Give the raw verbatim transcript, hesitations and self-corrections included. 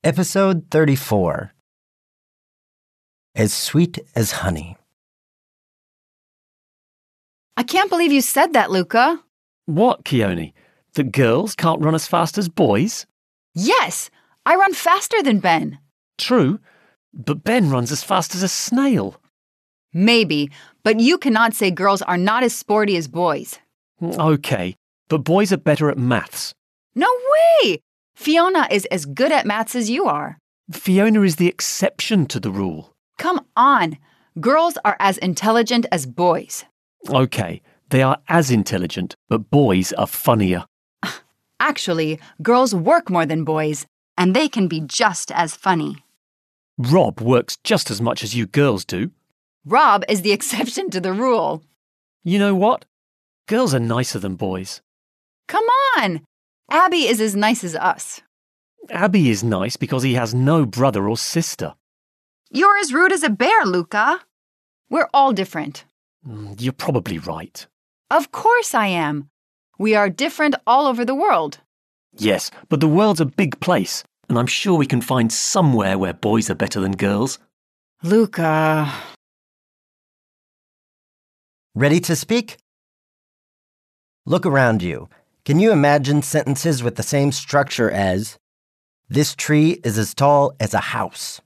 Episode thirty-four. As Sweet as Honey. I can't believe you said that, Luca. What, Keone? That girls can't run as fast as boys? Yes, I run faster than Ben. True, but Ben runs as fast as a snail. Maybe, but you cannot say girls are not as sporty as boys. Okay, but boys are better at maths. No way! Fiona is as good at maths as you are. Fiona is the exception to the rule. Come on. Girls are as intelligent as boys. Okay, they are as intelligent, but boys are funnier. Actually, girls work more than boys, and they can be just as funny. Rob works just as much as you girls do. Rob is the exception to the rule. You know what? Girls are nicer than boys. Come on! Abby is as nice as us. Abby is nice because he has no brother or sister. You're as rude as a bear, Luca. We're all different. Mm, You're probably right. Of course I am. We are different all over the world. Yes, but the world's a big place, and I'm sure we can find somewhere where boys are better than girls. Luca. Ready to speak? Look around you. Can you imagine sentences with the same structure as, "This tree is as tall as a house"?